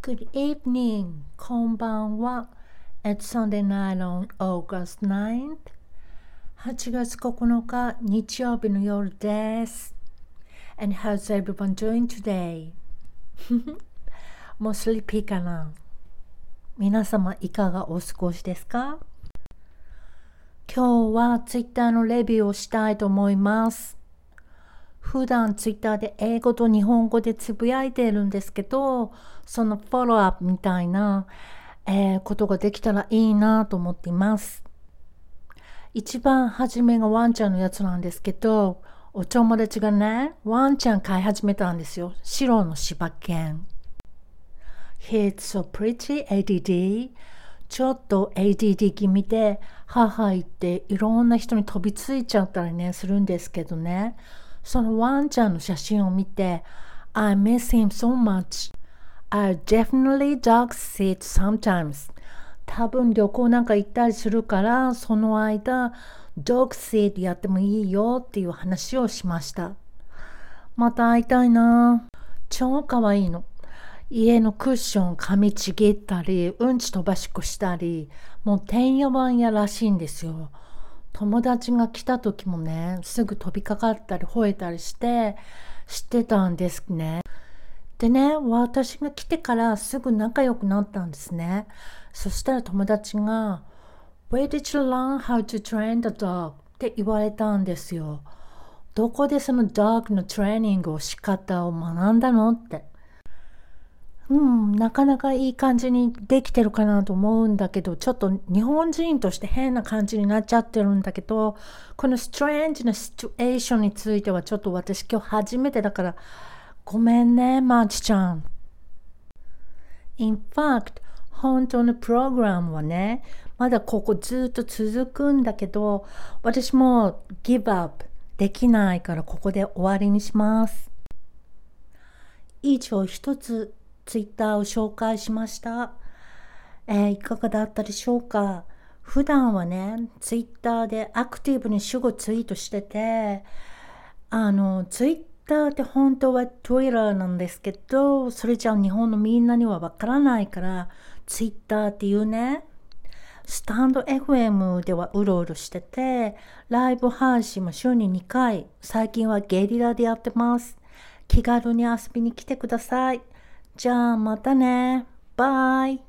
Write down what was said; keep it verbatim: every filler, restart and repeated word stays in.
Good evening. こんばんは。It's Sunday night on August ninth. はちがつここのか日曜日の夜です。And how's everyone doing today? もうスリーピーかな。皆様いかがお過ごしですか？今日は Twitter のレビューをしたいと思います。普段 Twitter で英語と日本語でつぶやいているんですけど、そのフォローアップみたいな、えー、ことができたらいいなと思っています。一番初めがワンちゃんのやつなんですけど、お友達がね、ワンちゃん飼い始めたんですよ。白の柴犬。He's so pretty エーディーディー。ちょっと エーディーディー 気味で、母言っていろんな人に飛びついちゃったりね、するんですけどね。そのワンちゃんの写真を見て、I miss him so much.I definitely dog sit sometimes. 多分旅行なんか行ったりするから、その間、dog sit やってもいいよっていう話をしました。また会いたいな。超かわいいの。家のクッション噛みちぎったり、うんち飛ばしっこしたり、もうてんやわんやらしいんですよ。友達が来た時もね、すぐ飛びかかったり吠えたりして、知ってたんですね。でね、私が来てからすぐ仲良くなったんですね。そしたら友達が Where did you learn how to train the dog? って言われたんですよ。どこでその dog のトレーニングを仕方を学んだのって。うん、なかなかいい感じにできてるかなと思うんだけど、ちょっと日本人として変な感じになっちゃってるんだけど、このストレンジなシチュエーションについてはちょっと私今日初めてだからごめんね、マーチちゃん。In fact、本当のプログラムはね、まだここずっと続くんだけど、私も give up できないからここで終わりにします。以上一つツイッターを紹介しました。えー、いかがだったでしょうか？普段はね、ツイッターでアクティブに主語ツイートしてて、あの、ツイッターって本当は Twitter なんですけど、それじゃあ日本のみんなにはわからないから、ツイッターっていうね、スタンド エフエム ではうろうろしてて、ライブ配信も週ににかい、最近はゲリラでやってます。気軽に遊びに来てください。じゃあまたね。バイ。